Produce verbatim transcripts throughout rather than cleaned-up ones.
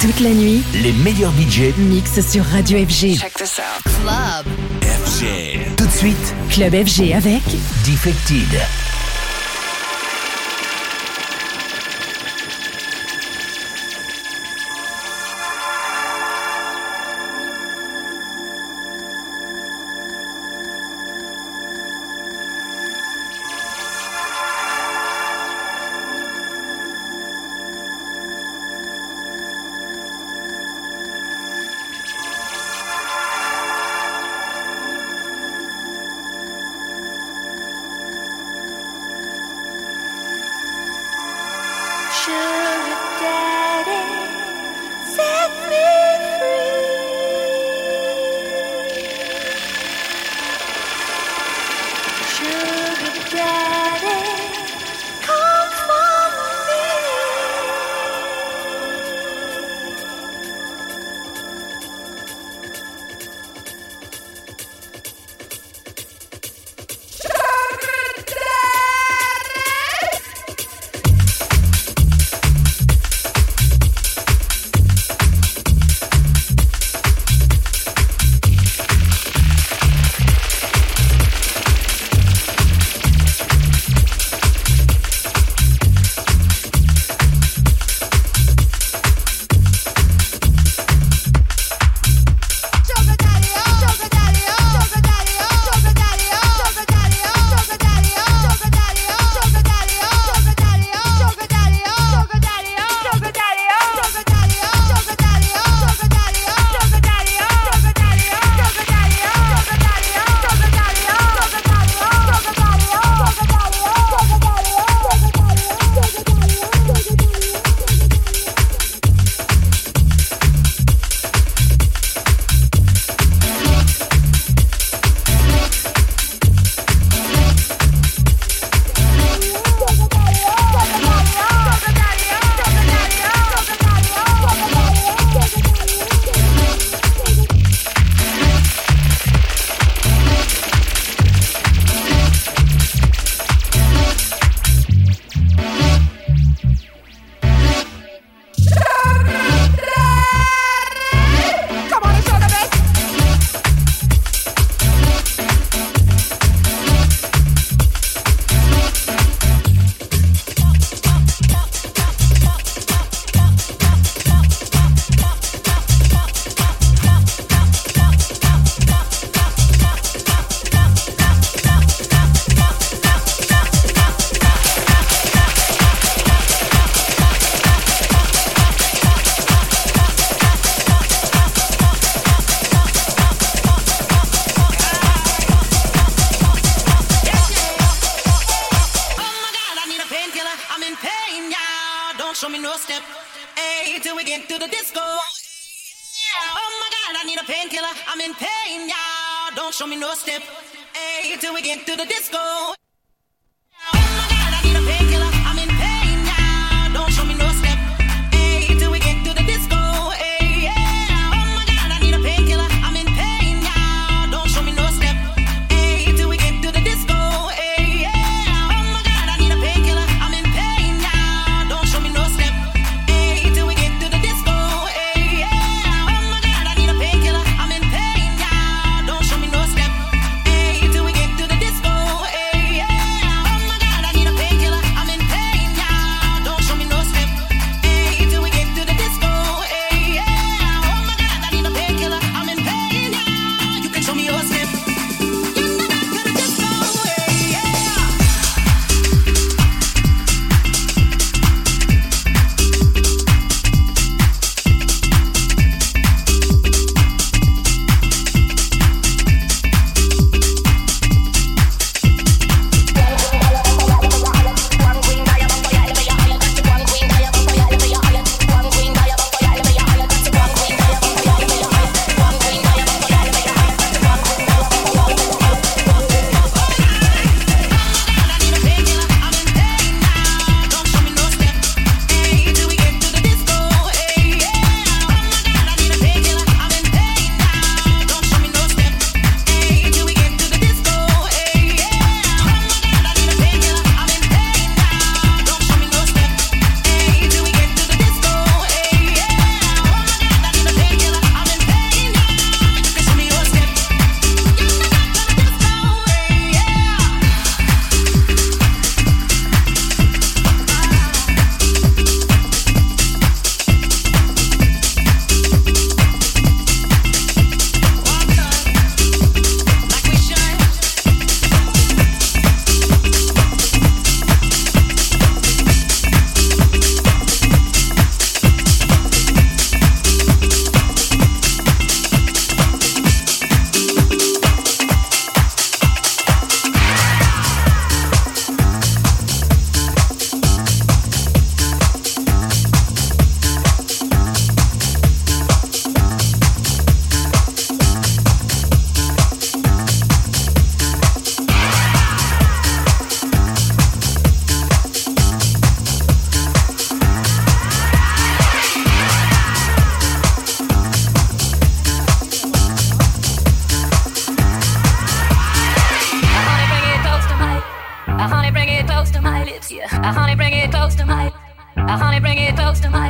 Toute la nuit, les meilleurs D J mixent sur Radio F G. Check this out. Club F G. Tout de suite, Club F G avec Defected. Yeah.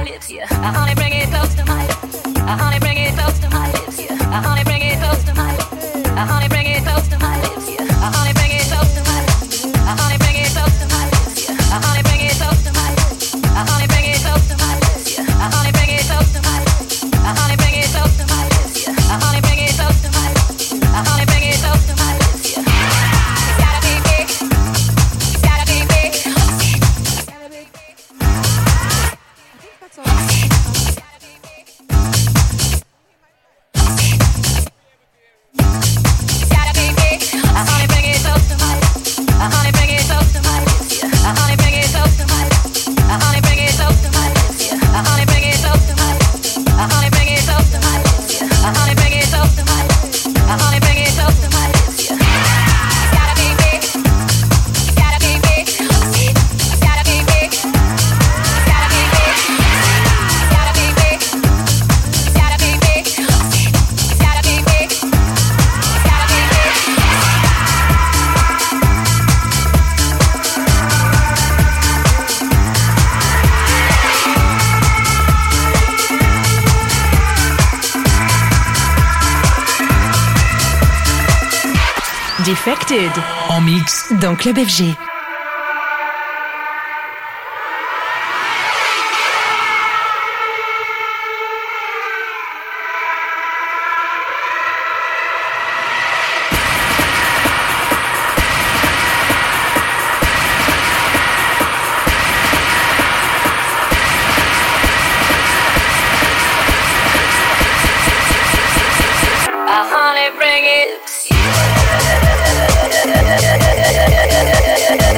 lips, yeah. Uh, honey, bring it close to my lips. Uh, honey, bring it close to my lips, yeah. Uh, honey, bring it close to my lips. Uh, honey, bring it close to my lips, yeah. Uh, honey, bring it close to my lips. Uh, honey, bring it close to my lips, yeah. Uh, honey, bring it close to my lips. Uh, honey, bring it close to my lips, yeah. Uh, honey, bring it close to my lips. Uh, honey, bring it close to my lips, yeah. Uh, honey, bring it close to my lips. Uh, honey, bring it close to my lips, yeah. It's gotta be big. It's gotta be big. It's gotta be big. I think that's all. It's gotta be big. It's gotta be big. Uh, honey, bring it close to my lips. Uh, honey, bring it close to my lips, yeah. Uh, honey, bring it close to my lips. Uh, honey, bring it close to my lips, yeah. Uh, honey, bring it close to my lips. Uh, honey, bring it close to my lips, yeah. Uh, honey, bring it close to my lips. Uh, honey, bring it close to my lips, yeah. It's gotta be big. It's gotta be big. It's gotta be big. It's gotta be big. It's gotta be big. It's gotta be big. It's gotta be big. It's gotta be big. Defected En mix dans Club F G. Uh, honey, bring it.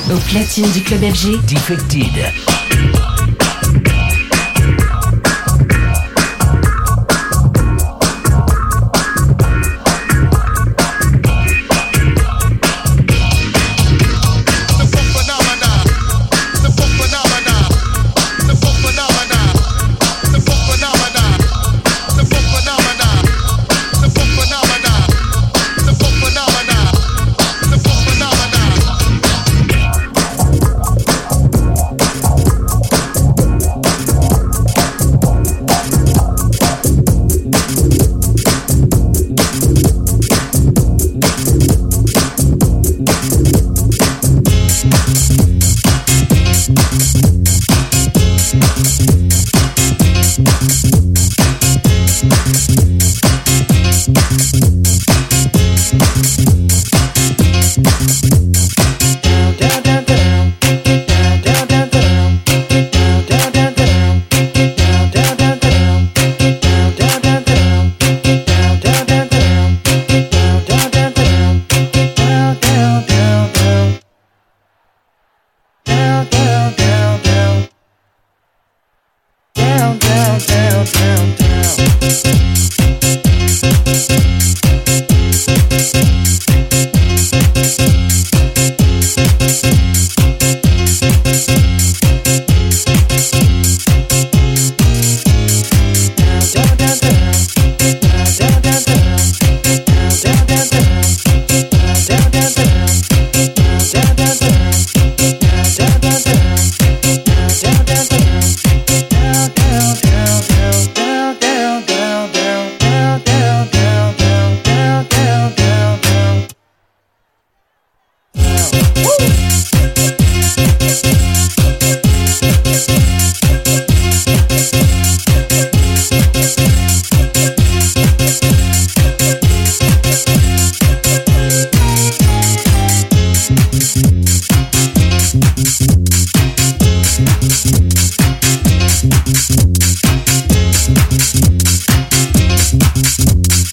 Au platine du club F G. Defected.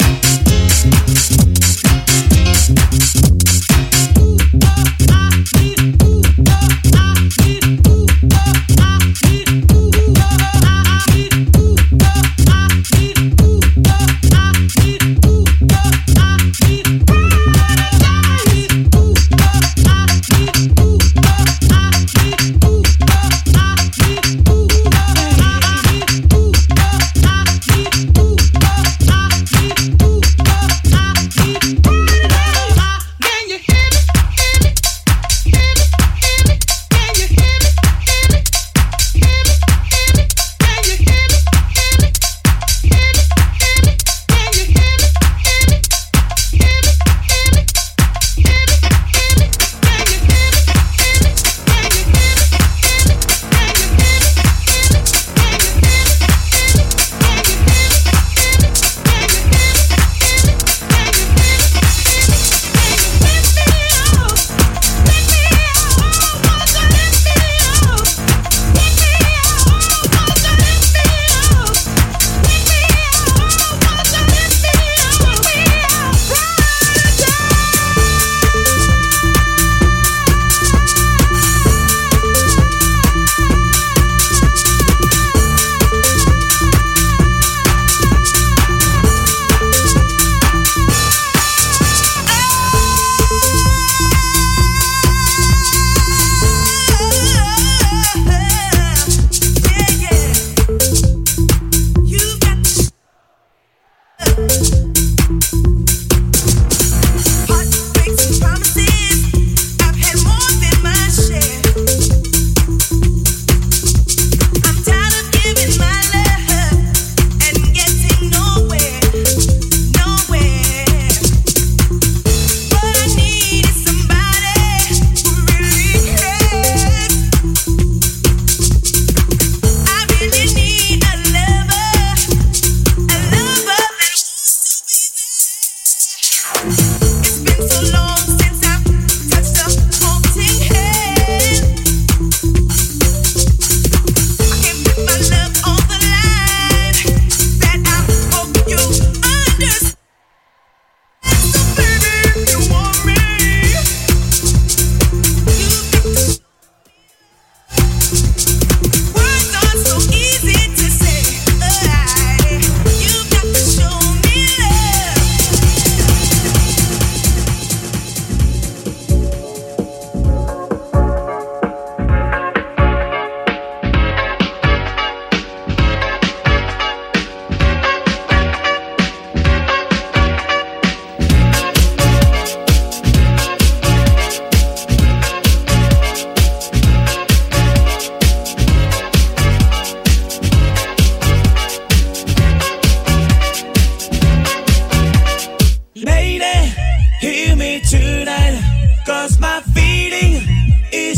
I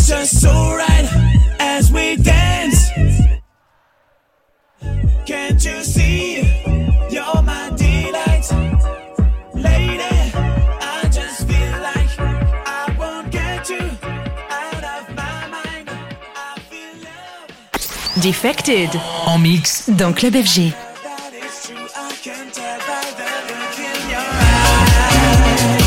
just so right as we dance. Can't you see? You're my delight, lady. I just feel like I won't get you out of my mind. I feel love. Defected. En mix Dans Club F G. That is true, I can tell by the look in your eyes.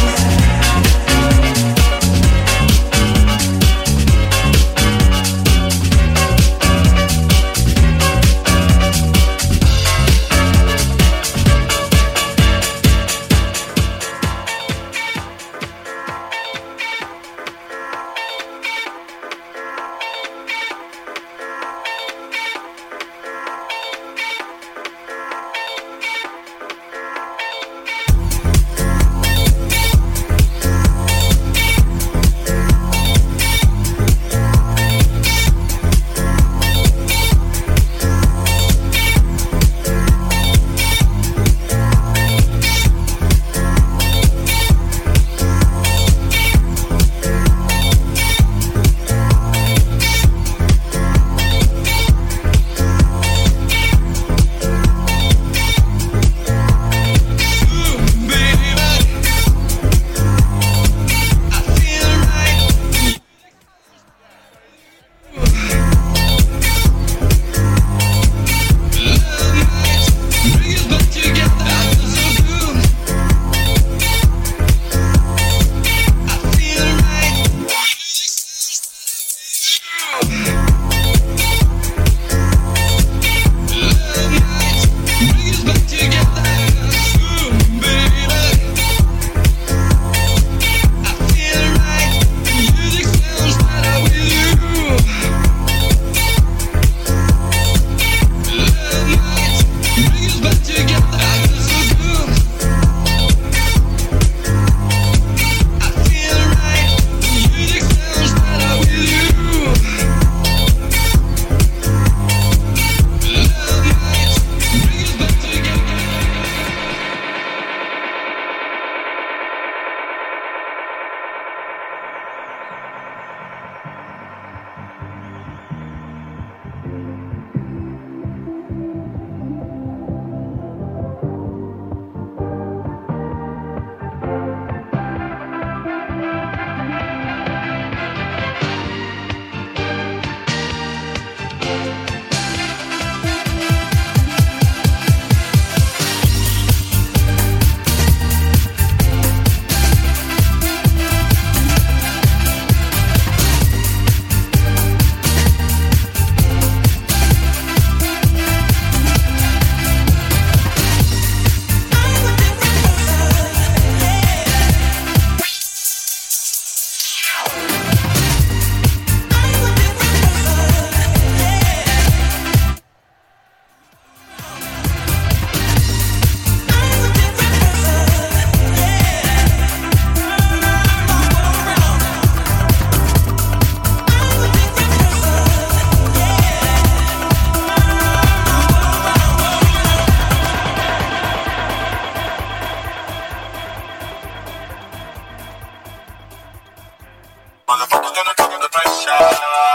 Motherfuckers gonna come under pressure.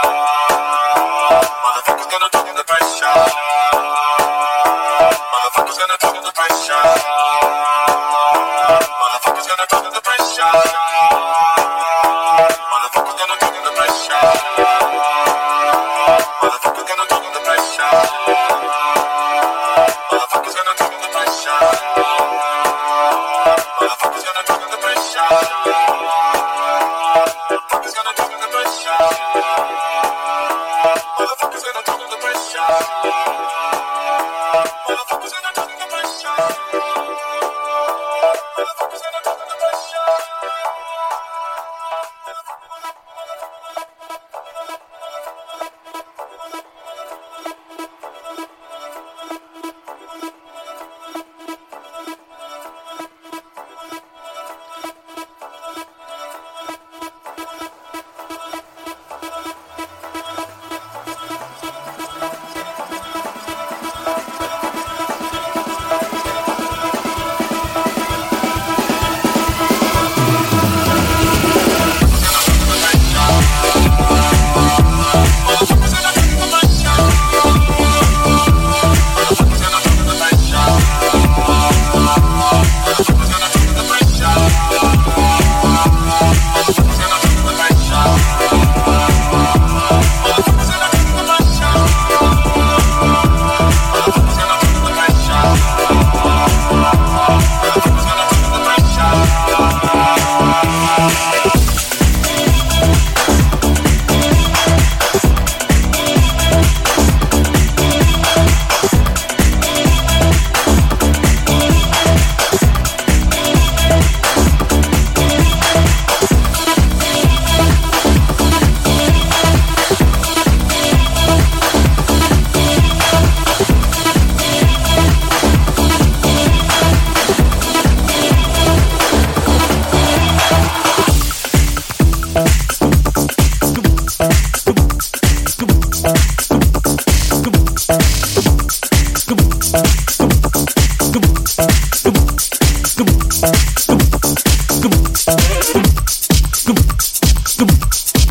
Motherfuckers gonna come under pressure. Motherfuckers gonna come under pressure. Motherfuckers gonna come under pressure. Motherfuckers gonna come under pressure. Motherfuckers gonna come under pressure. Motherfuckers gonna come under pressure. Motherfuckers gonna come under pressure. Motherfuckers gonna come under pressure.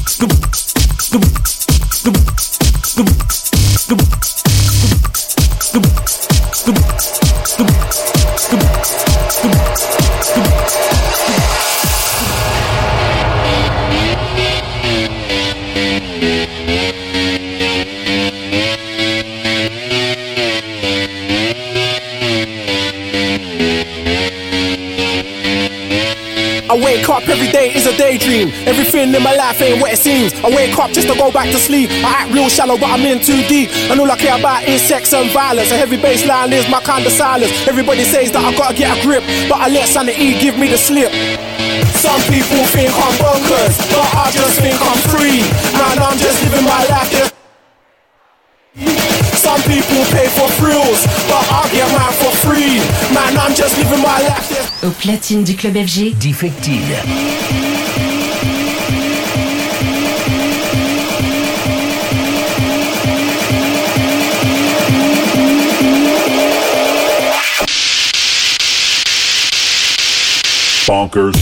I wake up every day is a daydream. Everything in my life ain't what it seems. I wake up just to go back to sleep. I act real shallow but I'm in too deep. And all I care about is sex and violence. A heavy bass line is my kind of silence. Everybody says that I gotta get a grip, but I let sanity give me the slip. Some people think I'm bonkers, but I just think I'm free. Man, I'm just living my life. There's some people pay for thrills, but I get mine for free. Man, I'm just living my life. There's Au platine du Club F G. Defected. Bonkers.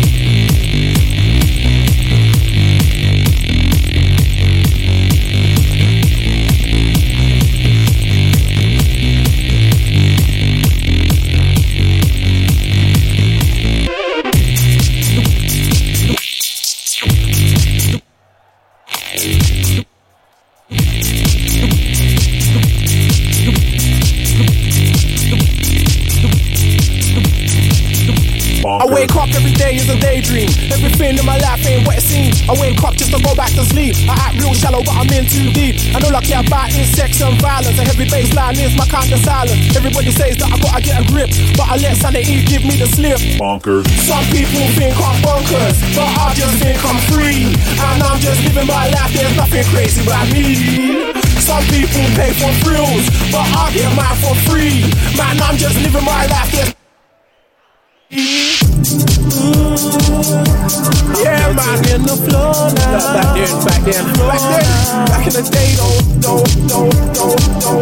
I wake up every day is a daydream. Everything in my life ain't what it seems. I wake up just to go back to sleep. I act real shallow but I'm in too deep. And all I care about is sex and violence. A heavy bass line is my kind of silence. Everybody says that I gotta get a grip, but I let sanity give me the slip. Bonkers. Some people think I'm bonkers, but I just think I'm free. And I'm just living my life, there's nothing crazy about me. Some people pay for thrills, but I get mine for free. Man, I'm just living my life, there's yeah, man, in the floor now. Back then, back then, back then, back in the day, don't, don't, don't, don't,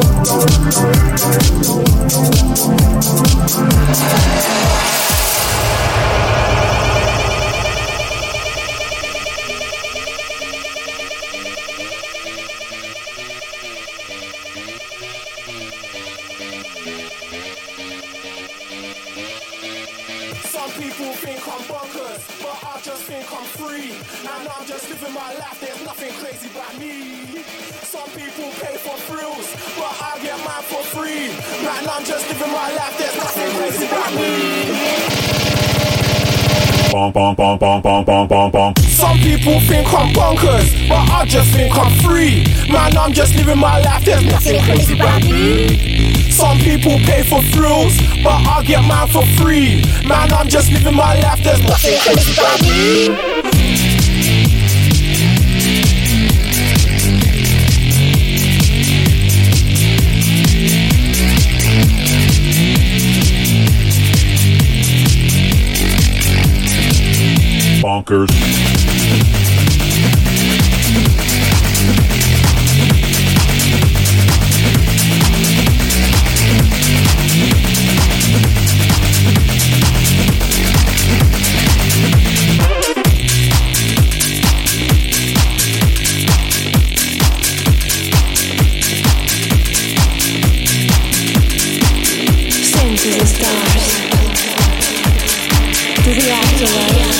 Some people think I'm bonkers, but I just think I'm free. And I'm just living my life, there's nothing crazy about me. Some people pay for thrills, but I get mine for free. Man, I'm just living my life, there's nothing crazy about me. Bonk, bonk, bonk, bonk, bonk, bonk, bonk, bonk. Some people think I'm bonkers, but I just think I'm free. Man, I'm just living my life, there's nothing crazy about me. Some people pay for thrills, but I get mine for free. Man, I'm just living my life, there's nothing crazy about me. Bonkers. Sing to the stars, to the afterlife.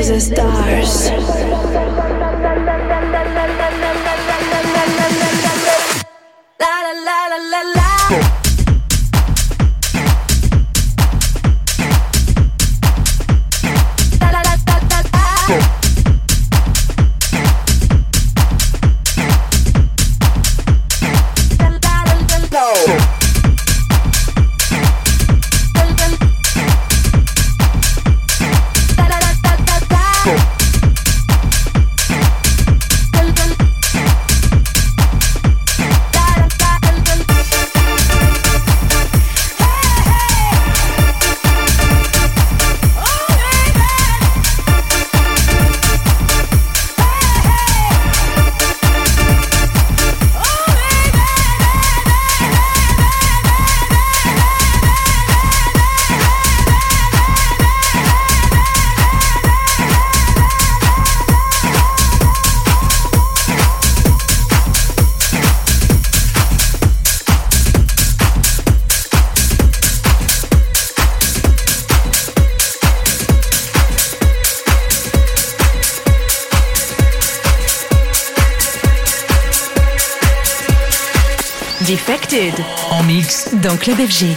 to the stars. La la la la la la. Defected en mix dans Club F G.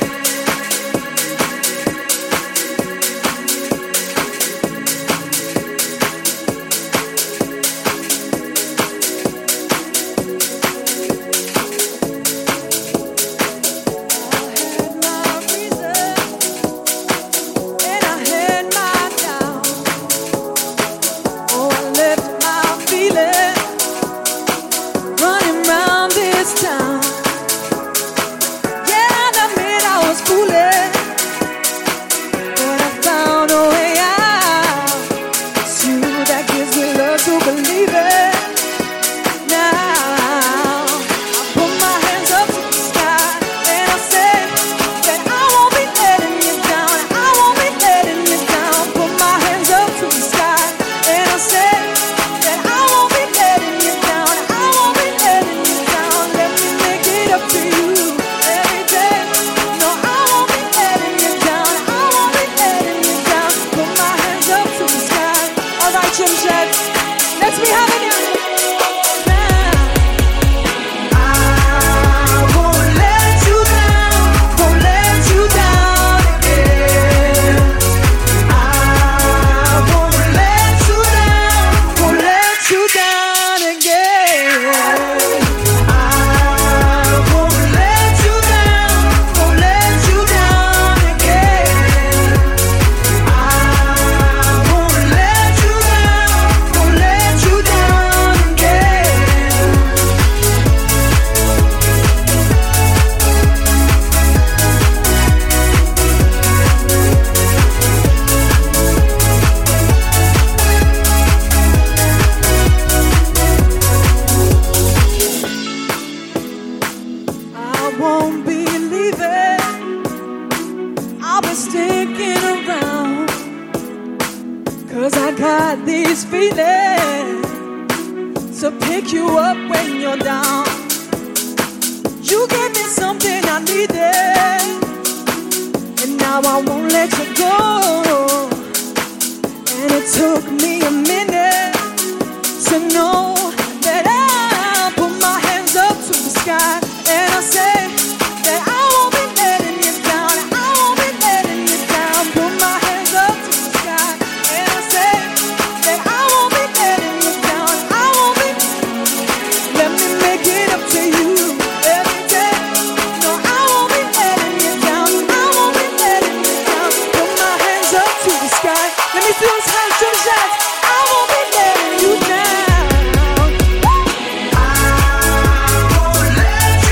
Let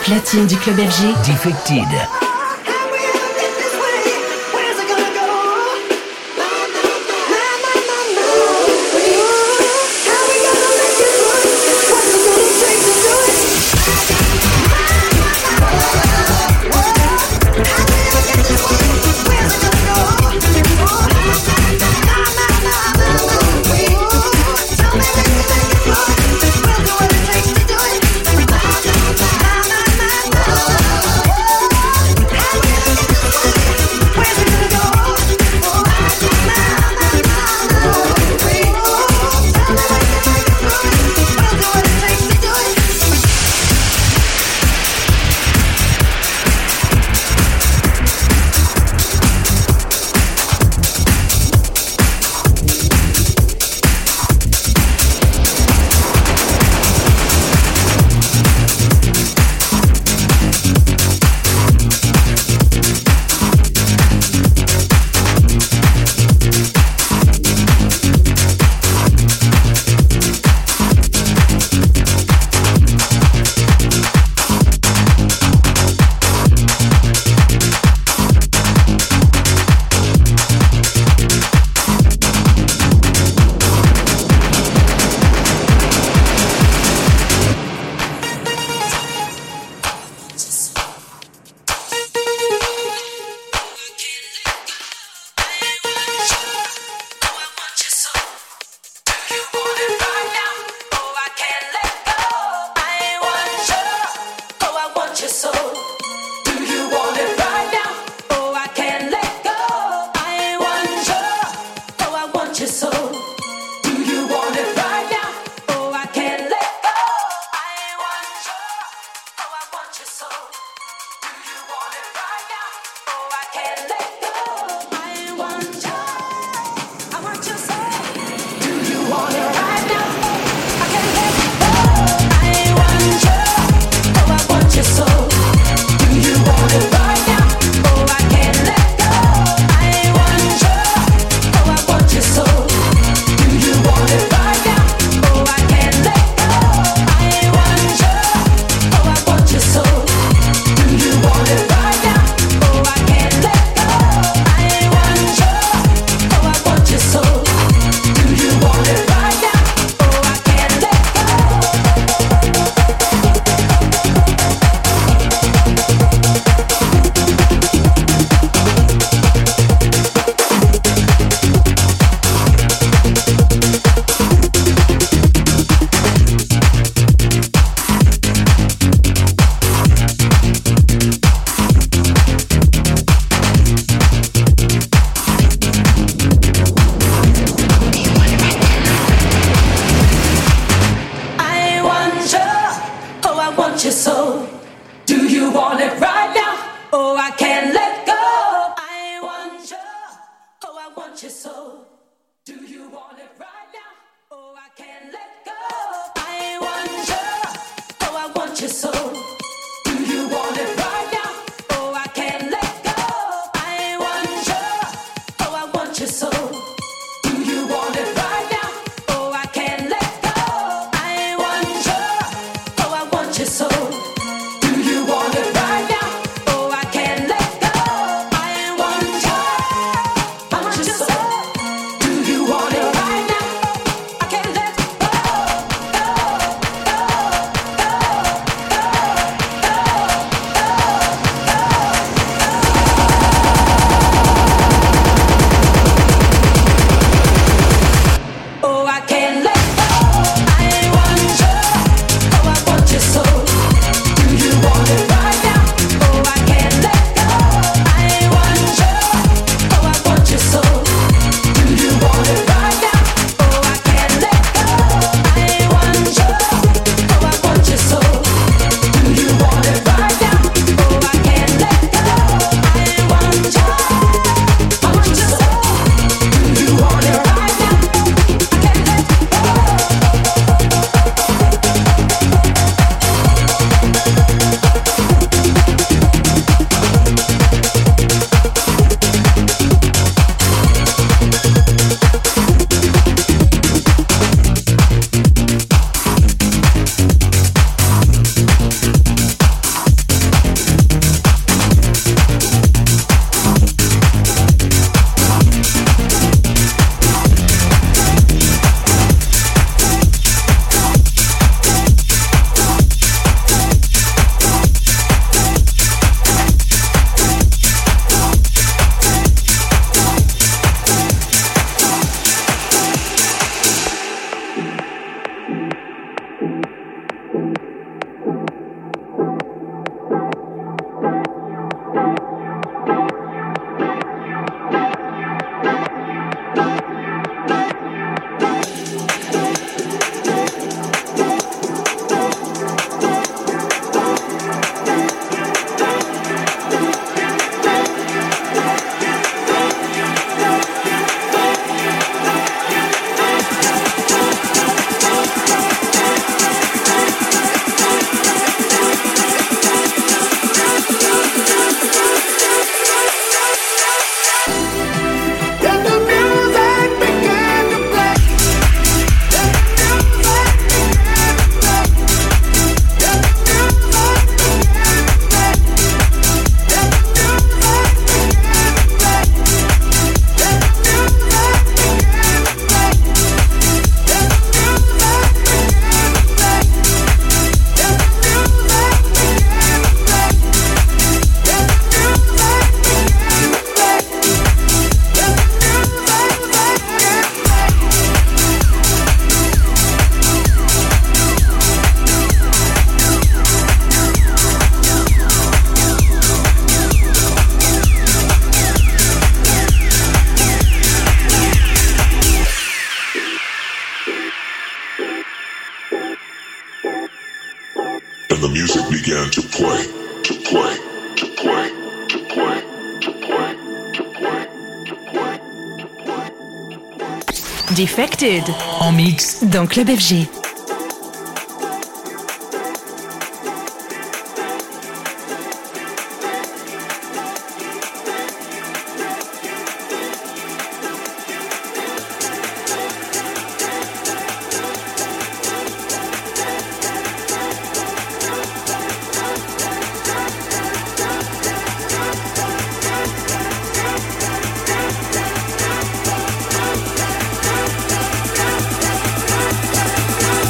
platine du club F G. Defected. I want your soul. Defected. En mix dans Club F G. We'll be right back.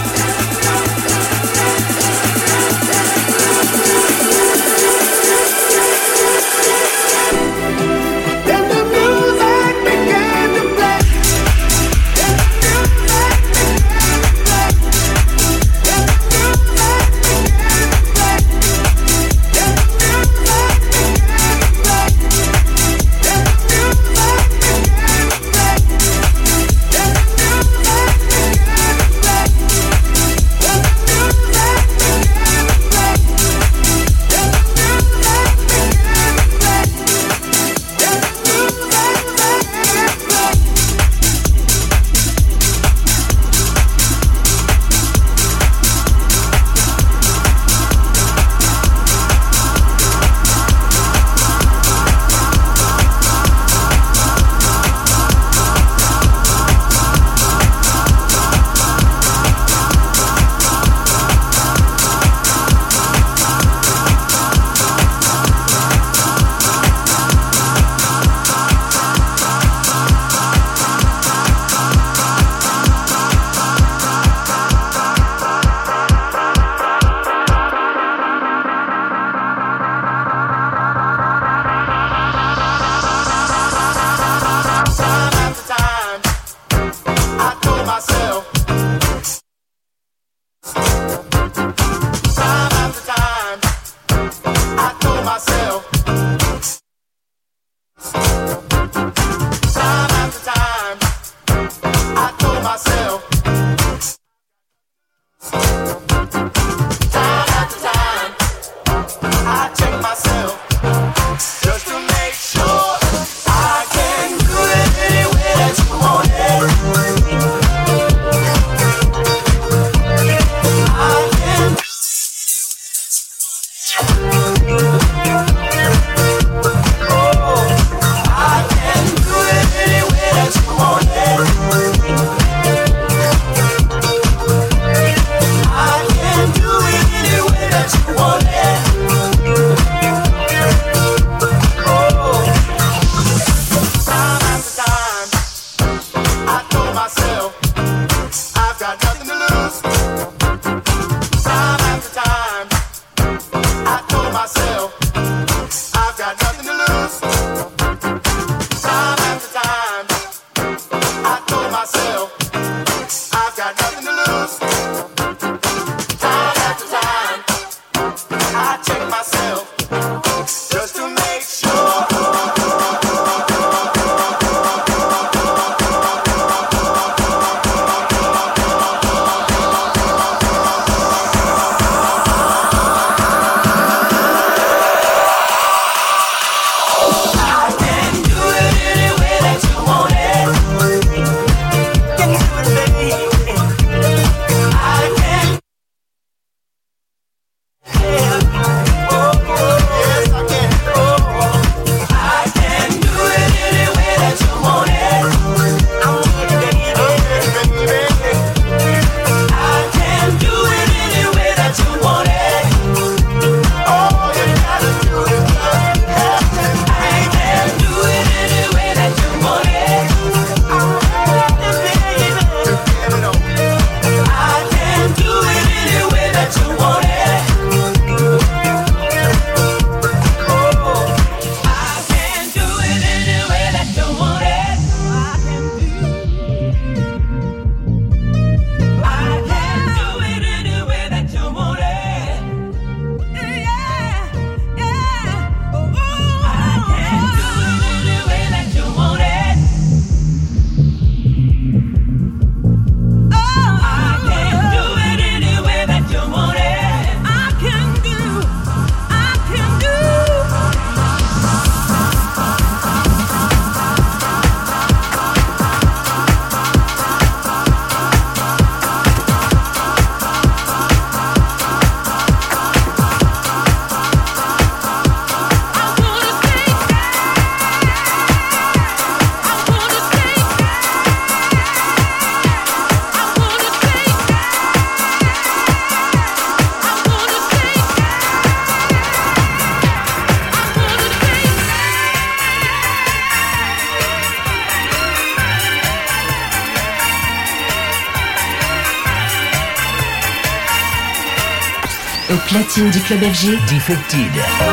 Au platine du Club F G, Defected.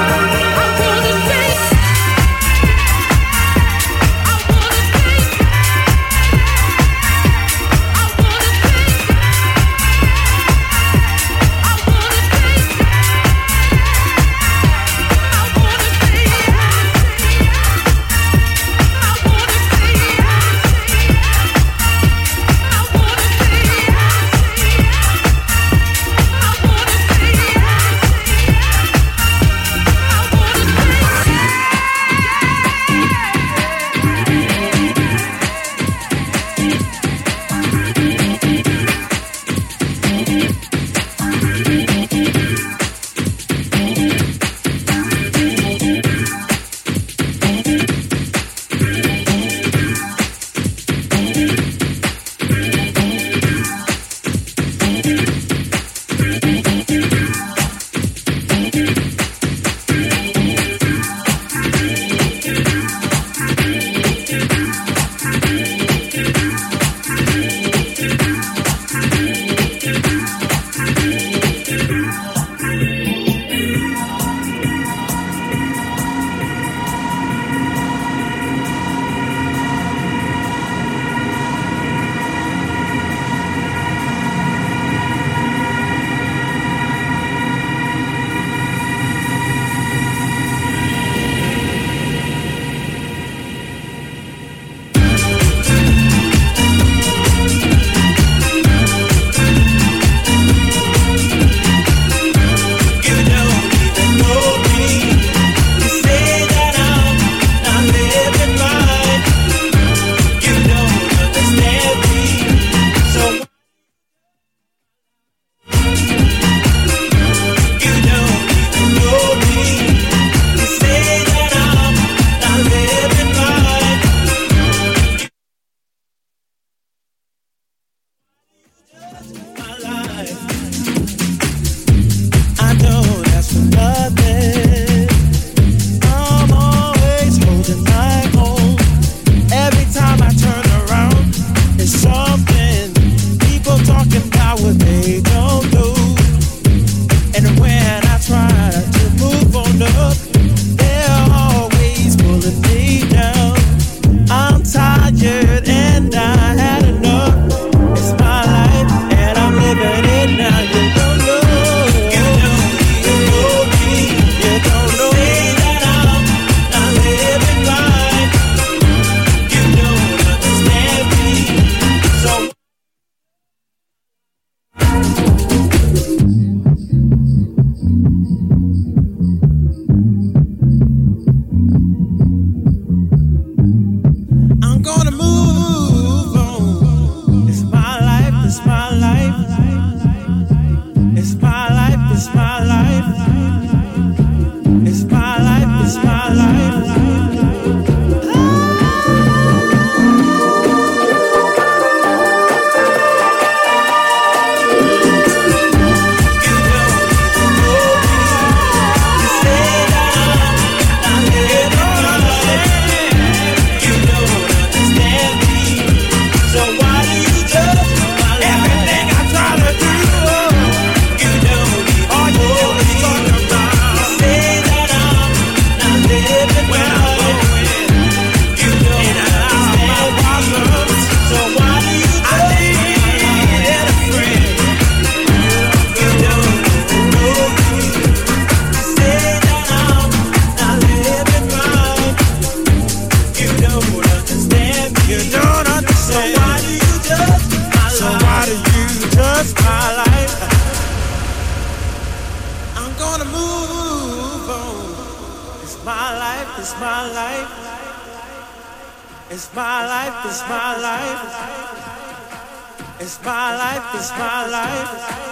It's my life. It's my life. It's my life. It's my life. It's my life.